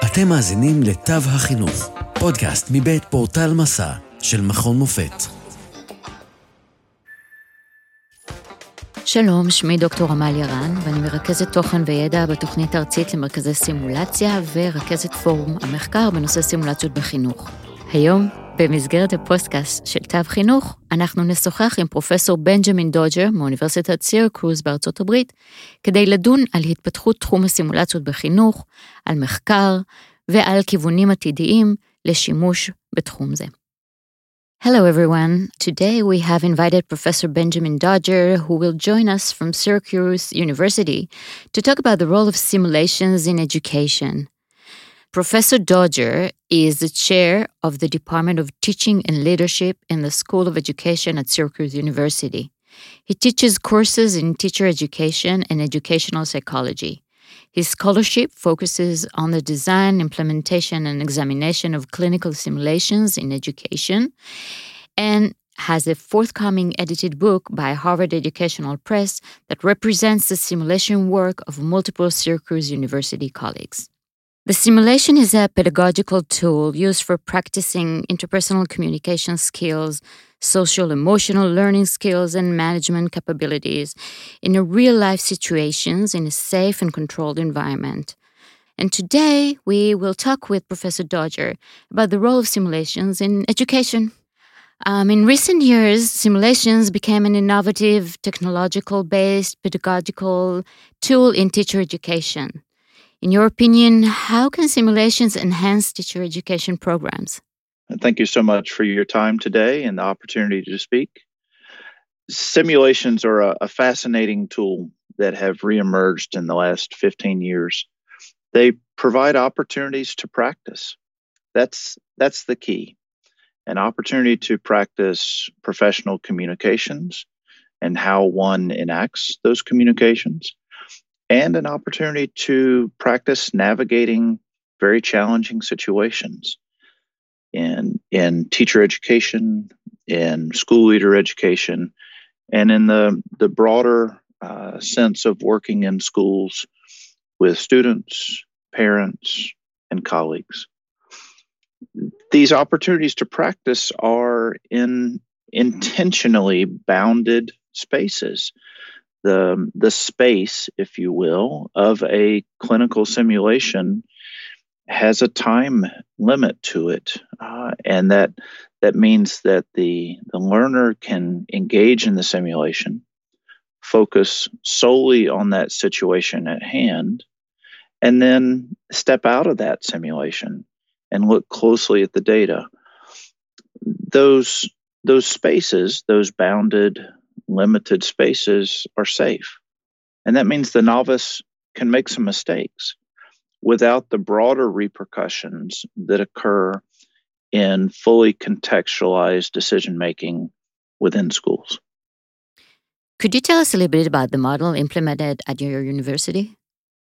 אתם מאזינים לתו החינוך, פודקאסט מבית פורטל מסע של מכון מופת. שלום, שמי דוקטור עמליה רן, ואני מרכזת תוכן וידע בתוכנית הארצית למרכזי סימולציה ורכזת פורום המחקר בנושא סימולציות בחינוך. היום, במסגרת הפודקאסט של תו חינוך, אנחנו נשוחח עם פרופסור בנג'מין דודג'ר מאוניברסיטת סירקוז בארצות הברית, כדי לדון על התפתחות תחום הסימולציות בחינוך, על מחקר ועל כיוונים עתידיים לשימוש בתחום זה. Hello everyone. Today we have invited Professor Benjamin Dodger, who will join us from Syracuse University to talk about the role of simulations in education. Professor Dodger is the chair of the Department of Teaching and Leadership in the School of Education at Syracuse University. He teaches courses in teacher education and educational psychology. His scholarship focuses on the design, implementation, and examination of clinical simulations in education, and has a forthcoming edited book by Harvard Educational Press that represents the simulation work of multiple Syracuse University colleagues. The simulation is a pedagogical tool used for practicing interpersonal communication skills, social-emotional learning skills, and management capabilities in real-life situations in a safe and controlled environment. And today, we will talk with Professor Dodger about the role of simulations in education. In recent years, simulations became an innovative, technological-based pedagogical tool in teacher education. In your opinion, how can simulations enhance teacher education programs? Thank you so much for your time today and the opportunity to speak. Simulations are a fascinating tool that have reemerged in the last 15 years. They provide opportunities to practice. That's the key. An opportunity to practice professional communications and how one enacts those communications, and an opportunity to practice navigating very challenging situations in teacher education, in school leader education, and in the broader sense of working in schools with students, parents, and colleagues. These opportunities to practice are in intentionally bounded spaces. The space, if you will, of a clinical simulation has a time limit to it, and that means that the learner can engage in the simulation, focus solely on that situation at hand, and then step out of that simulation and look closely at the data. Those spaces, those bounded, limited spaces, are safe. And that means the novice can make some mistakes without the broader repercussions that occur in fully contextualized decision-making within schools. Could you tell us a little bit about the model implemented at your university?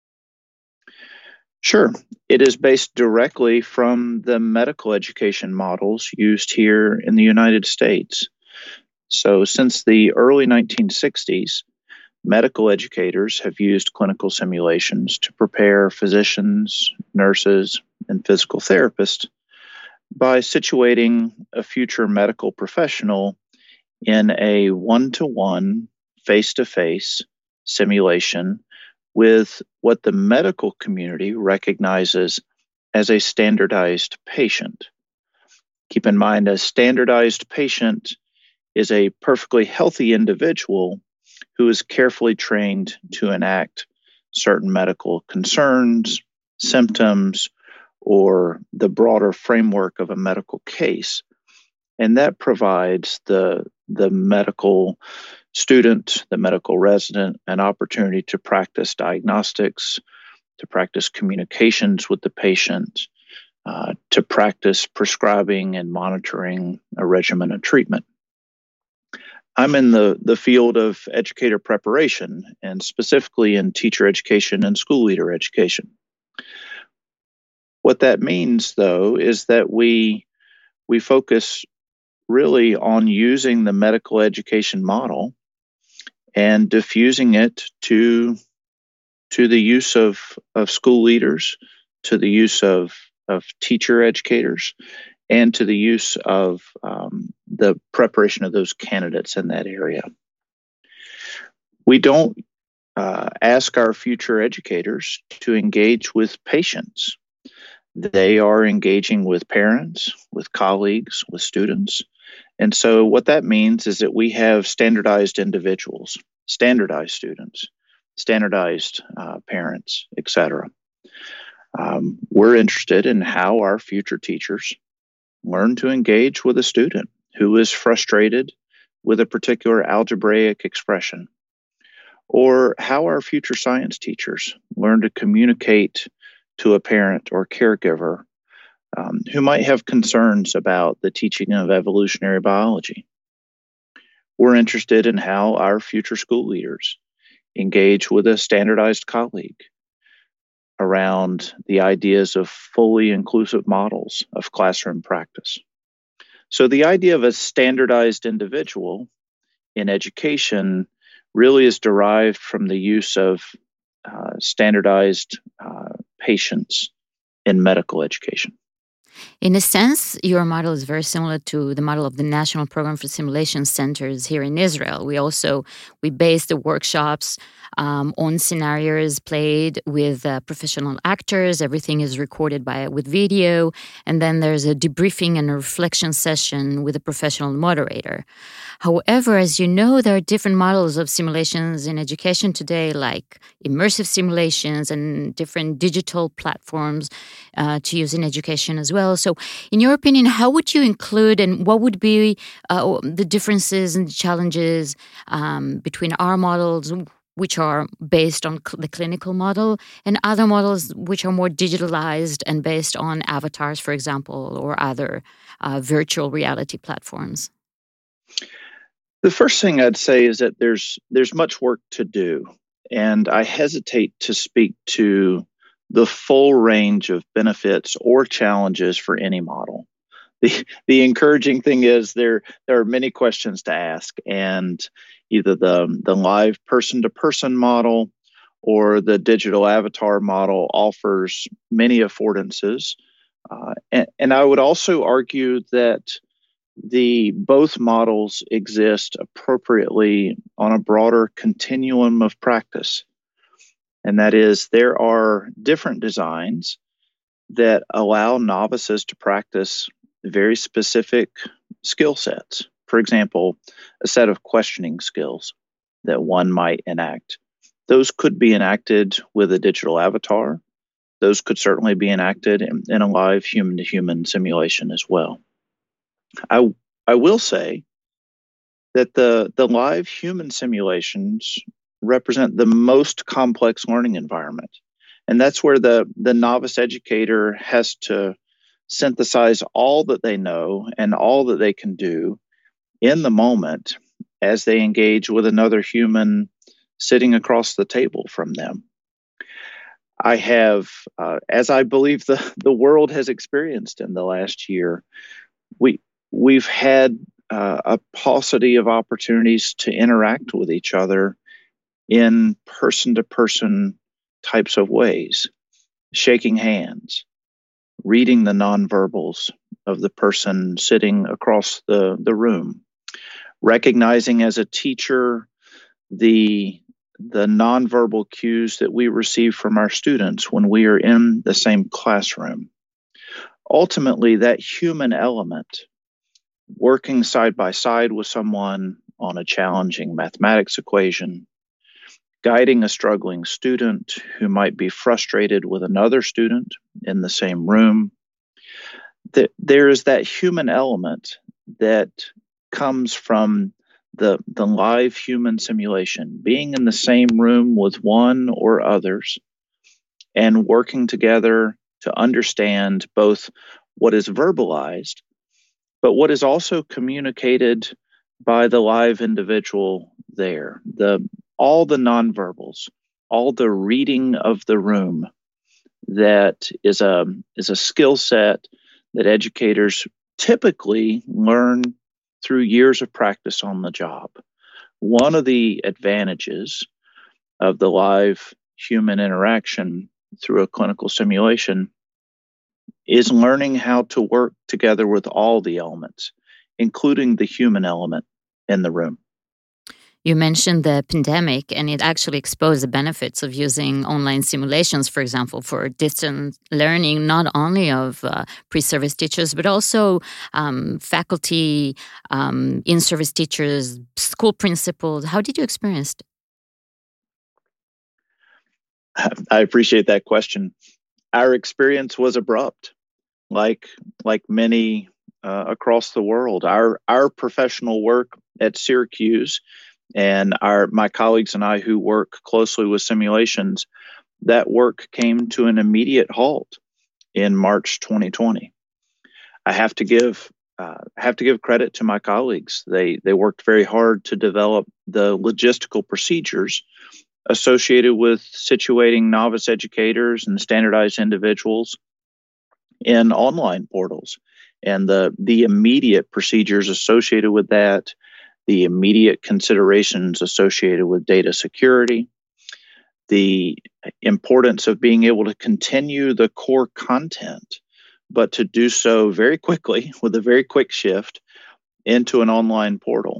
Sure. It is based directly from the medical education models used here in the United States. So since the early 1960s, medical educators have used clinical simulations to prepare physicians, nurses, and physical therapists by situating a future medical professional in a one-to-one, face-to-face simulation with what the medical community recognizes as a standardized patient. Keep in mind, a standardized patient is a perfectly healthy individual who is carefully trained to enact certain medical concerns, symptoms, or the broader framework of a medical case. And that provides the medical student, the medical resident, an opportunity to practice diagnostics, to practice communications with the patient, to practice prescribing and monitoring a regimen of treatment. I'm in the field of educator preparation, and specifically in teacher education and school leader education. What that means, though, is that we focus really on using the medical education model and diffusing it to the use of school leaders, to the use of teacher educators and to the use of the preparation of those candidates in that area. We don't ask our future educators to engage with patients. They are engaging with parents, with colleagues, with students. And so what that means is that we have standardized individuals, standardized students, standardized parents, etc. We're interested in how our future teachers learn to engage with a student who is frustrated with a particular algebraic expression, or how our future science teachers learn to communicate to a parent or caregiver who might have concerns about the teaching of evolutionary biology. We're interested in how our future school leaders engage with a standardized colleague around the ideas of fully inclusive models of classroom practice. So the idea of a standardized individual in education really is derived from the use of standardized patients in medical education. In a sense, your model is very similar to the model of the National Program for Simulation Centers here in Israel. We base the workshops on scenarios played with professional actors. Everything is recorded with video, and then there's a debriefing and a reflection session with a professional moderator. However, as you know, there are different models of simulations in education today, like immersive simulations and different digital platforms to use in education as well. So in your opinion, how would you include and what would be the differences and challenges between our models, which are based on the clinical model, and other models which are more digitalized and based on avatars, for example, or other virtual reality platforms? The first thing I'd say is that there's much work to do, and I hesitate to speak to the full range of benefits or challenges for any model. The encouraging thing is there are many questions to ask, and either the live person-to-person model or the digital avatar model offers many affordances. And I would also argue that both models exist appropriately on a broader continuum of practice. And that is, there are different designs that allow novices to practice very specific skill sets. For example, a set of questioning skills that one might enact. Those could be enacted with a digital avatar. Those could certainly be enacted in a live human-to-human simulation as well. I will say that the live human simulations represent the most complex learning environment. And that's where the novice educator has to synthesize all that they know and all that they can do in the moment as they engage with another human sitting across the table from them. I have, as I believe the world has experienced in the last year, we've had a paucity of opportunities to interact with each other in person-to-person types of ways, shaking hands, reading the nonverbals of the person sitting across the room, recognizing as a teacher the nonverbal cues that we receive from our students when we are in the same classroom. Ultimately, that human element, working side by side with someone on a challenging mathematics equation, guiding a struggling student who might be frustrated with another student in the same room. There is that human element that comes from the live human simulation, being in the same room with one or others and working together to understand both what is verbalized, but what is also communicated by the live individual there. All the nonverbals, all the reading of the room, that is a skill set that educators typically learn through years of practice on the job. One of the advantages of the live human interaction through a clinical simulation is learning how to work together with all the elements, including the human element in the room. You mentioned the pandemic, and it actually exposed the benefits of using online simulations, for example, for distance learning, not only of pre-service teachers, but also faculty, in-service teachers, school principals. How did you experience it? I appreciate that question. Our experience was abrupt, like many across the world. Our professional work at Syracuse and my colleagues and I who work closely with simulations, that work came to an immediate halt in March 2020. I have to give credit to my colleagues. They worked very hard to develop the logistical procedures associated with situating novice educators and standardized individuals in online portals, and the immediate procedures associated with that, the immediate considerations associated with data security, the importance of being able to continue the core content, but to do so very quickly with a very quick shift into an online portal.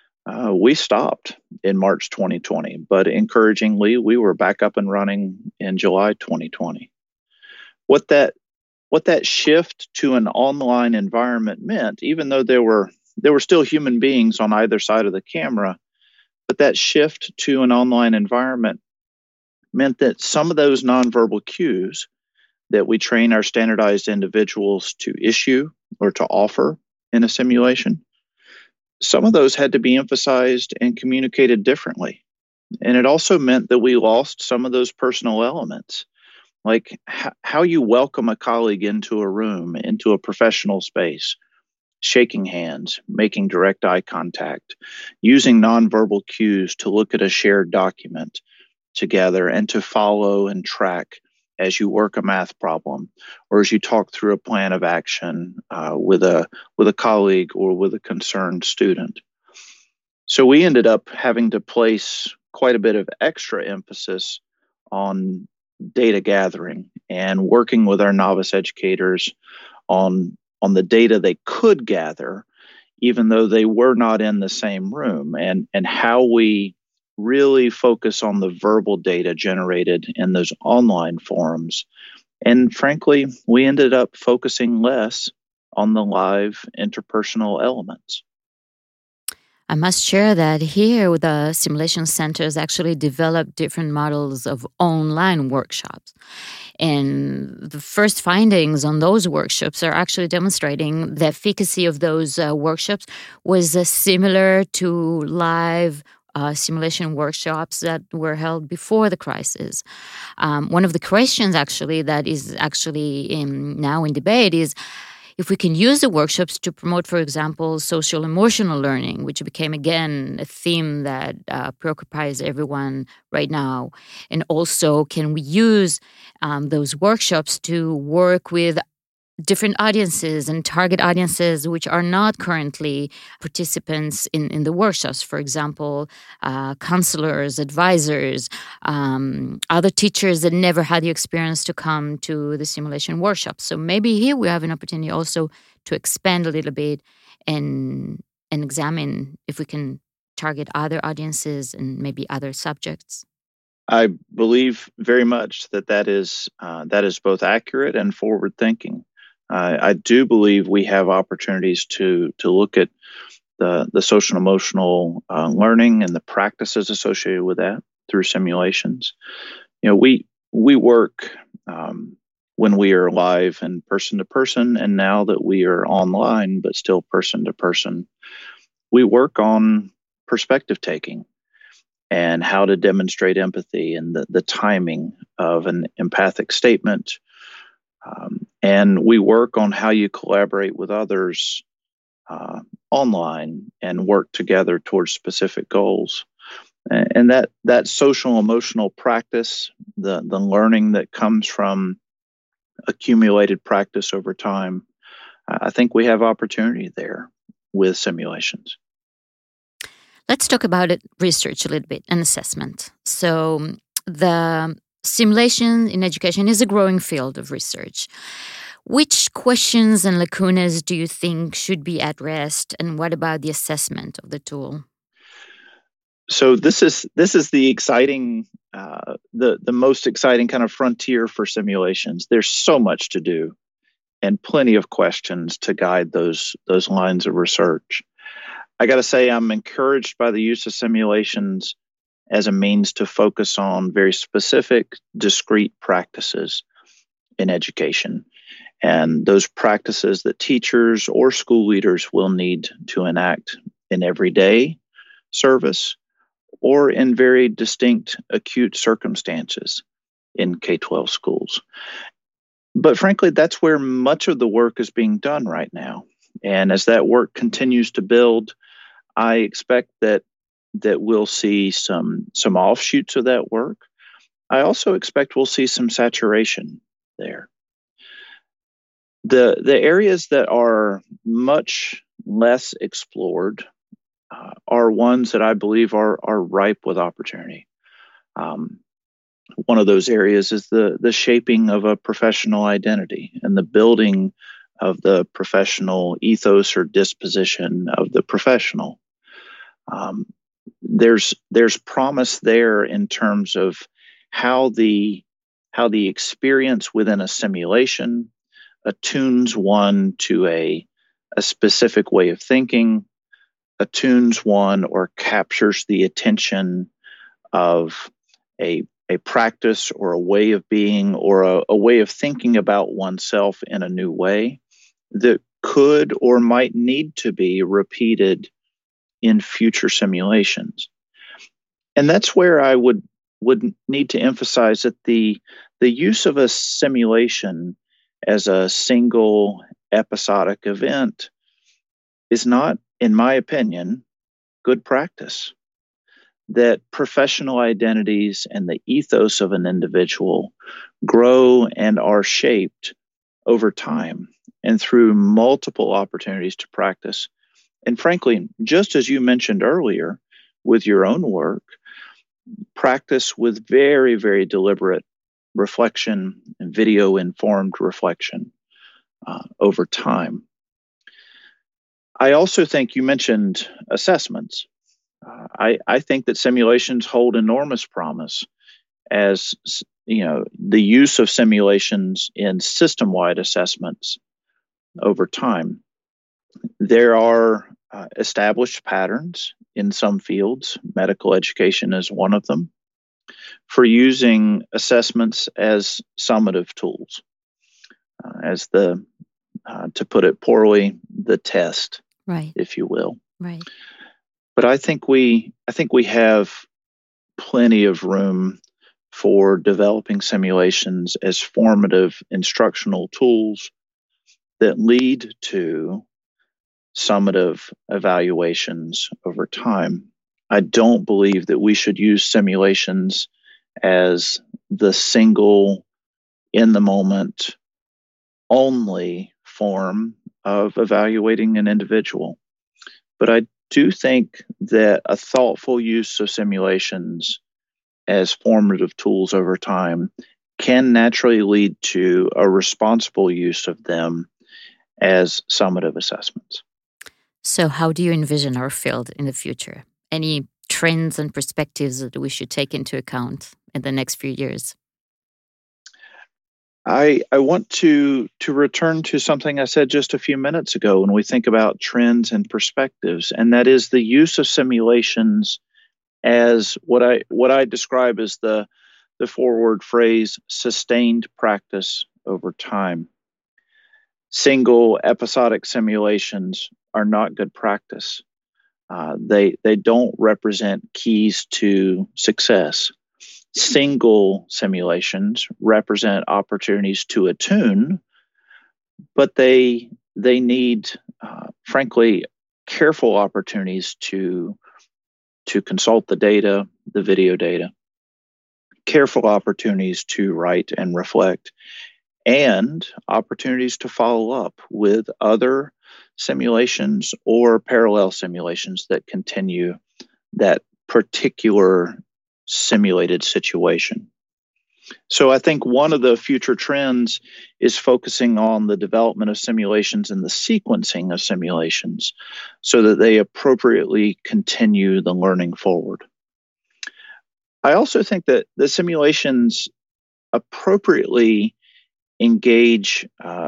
We stopped in March 2020, but encouragingly, we were back up and running in July 2020. What that shift to an online environment meant, even though there were still human beings on either side of the camera, but that shift to an online environment meant that some of those nonverbal cues that we train our standardized individuals to issue or to offer in a simulation, some of those had to be emphasized and communicated differently. And it also meant that we lost some of those personal elements, like how you welcome a colleague into a room, into a professional space, shaking hands, making direct eye contact, using nonverbal cues to look at a shared document together and to follow and track as you work a math problem or as you talk through a plan of action with a colleague or with a concerned student. So we ended up having to place quite a bit of extra emphasis on data gathering and working with our novice educators on the data they could gather, even though they were not in the same room, and how we really focus on the verbal data generated in those online forums. And frankly, we ended up focusing less on the live interpersonal elements. I must share that here the simulation centers actually developed different models of online workshops. And the first findings on those workshops are actually demonstrating the efficacy of those workshops was similar to live simulation workshops that were held before the crisis. One of the questions actually that is actually now in debate is if we can use the workshops to promote, for example, social emotional learning, which became, again, a theme that preoccupies everyone right now. And also, can we use those workshops to work with different audiences and target audiences which are not currently participants in the workshops, for example, counselors, advisors, other teachers that never had the experience to come to the simulation workshops. So maybe here we have an opportunity also to expand a little bit and examine if we can target other audiences and maybe other subjects. I believe very much that is both accurate and forward-thinking. I do believe we have opportunities to look at the social and emotional learning and the practices associated with that through simulations. You know, we work when we are live and person to person, and now that we are online but still person to person, we work on perspective taking and how to demonstrate empathy and the timing of an empathic statement. And we work on how you collaborate with others online and work together towards specific goals. And that social emotional practice, the learning that comes from accumulated practice over time, I think we have opportunity there with simulations. Let's talk about it, research a little bit, and assessment. So the simulation in education is a growing field of research. Which questions and lacunas do you think should be addressed, and what about the assessment of the tool? So this is the exciting, the most exciting kind of frontier for simulations. There's so much to do, and plenty of questions to guide those lines of research. I got to say, I'm encouraged by the use of simulations as a means to focus on very specific, discrete practices in education, and those practices that teachers or school leaders will need to enact in everyday service or in very distinct acute circumstances in K-12 schools. But frankly, that's where much of the work is being done right now. And as that work continues to build, I expect that we'll see some offshoots of that work. I also expect we'll see some saturation there. The areas that are much less explored are ones that I believe are ripe with opportunity. One of those areas is the shaping of a professional identity and the building of the professional ethos or disposition of the professional. There's promise there in terms of how the experience within a simulation attunes one to a specific way of thinking, attunes one or captures the attention of a practice or a way of being or a way of thinking about oneself in a new way that could or might need to be repeated in future simulations. And that's where I would need to emphasize that the use of a simulation as a single episodic event is not, in my opinion, good practice. That professional identities and the ethos of an individual grow and are shaped over time and through multiple opportunities to practice. And frankly, just as you mentioned earlier with your own work, practice with very, very deliberate reflection and video-informed reflection over time. I also think you mentioned assessments. I think that simulations hold enormous promise as, the use of simulations in system-wide assessments over time. There are established patterns in some fields, medical education is one of them, for using assessments as summative tools, as to put it poorly, the test, right, if you will. Right. But I think we have plenty of room for developing simulations as formative instructional tools that lead to summative evaluations over time. I don't believe that we should use simulations as the single, in the moment, only form of evaluating an individual. But I do think that a thoughtful use of simulations as formative tools over time can naturally lead to a responsible use of them as summative assessments. So how do you envision our field in the future? Any trends and perspectives that we should take into account in the next few years? I want to return to something I said just a few minutes ago when we think about trends and perspectives, and that is the use of simulations as what I describe as the forward phrase, sustained practice over time. Single episodic simulations are not good practice. They don't represent keys to success. Single simulations represent opportunities to attune, but they need, frankly, careful opportunities to consult the data, the video data, careful opportunities to write and reflect, and opportunities to follow up with other simulations or parallel simulations that continue that particular simulated situation. So I think one of the future trends is focusing on the development of simulations and the sequencing of simulations so that they appropriately continue the learning forward. I also think that the simulations appropriately engage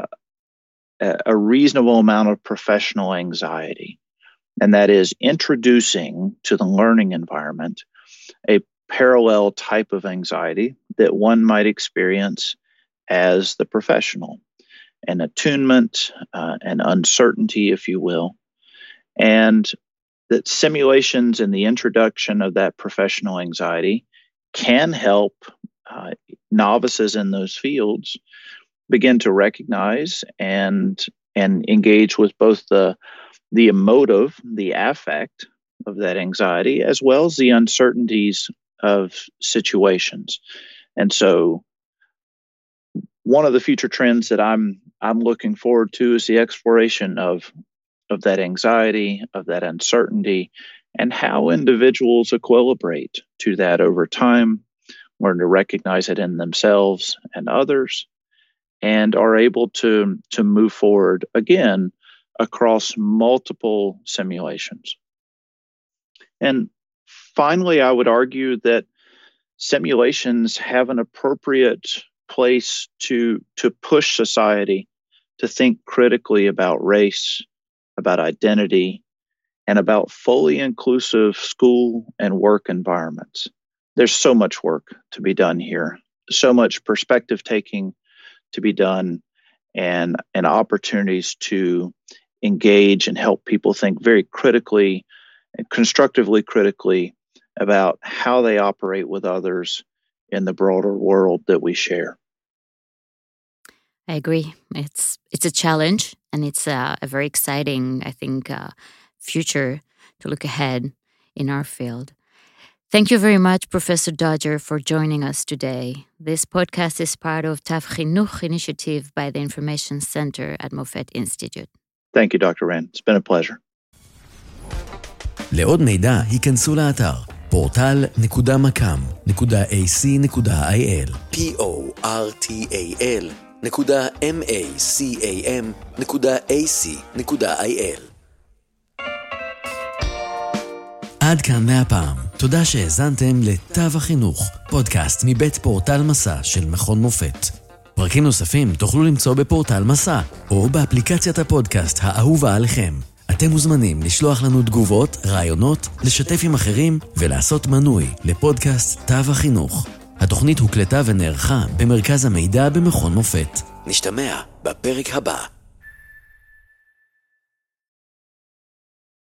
a reasonable amount of professional anxiety, and that is introducing to the learning environment a parallel type of anxiety that one might experience as the professional, an attunement, an uncertainty, if you will, and that simulations and the introduction of that professional anxiety can help novices in those fields begin to recognize and engage with both the emotive, the affect of that anxiety, as well as the uncertainties of situations. And so one of the future trends that I'm looking forward to is the exploration of that anxiety, of that uncertainty, and how individuals equilibrate to that over time, learn to recognize it in themselves and others, and are able to move forward again across multiple simulations. And finally, I would argue that simulations have an appropriate place to push society to think critically about race, about identity, and about fully inclusive school and work environments. There's so much work to be done here, so much perspective taking to be done, and opportunities to engage and help people think very critically and constructively critically about how they operate with others in the broader world that we share. I agree. It's a challenge, and it's a very exciting, I think, future to look ahead in our field. Thank you very much, Professor Dodger, for joining us today. This podcast is part of TAV Chinuch initiative by the Information Center at Mofet Institute. Thank you, Dr. Rand. It's been a pleasure. לעוד מידע, היכנסו לאתר portal.macam.ac.il portal.macam.ac.il. עד כאן להפעם. תודה שהאזנתם לתו החינוך, פודקאסט מבית פורטל מסע של מכון מופת. פרקים נוספים תוכלו למצוא בפורטל מסע, או באפליקציית הפודקאסט האהובה עליכם. אתם מוזמנים לשלוח לנו תגובות, רעיונות, לשתף עם אחרים ולעשות מנוי לפודקאסט תו החינוך. התוכנית הוקלטה ונערכה במרכז המידע במכון מופת. נשתמע בפרק הבא.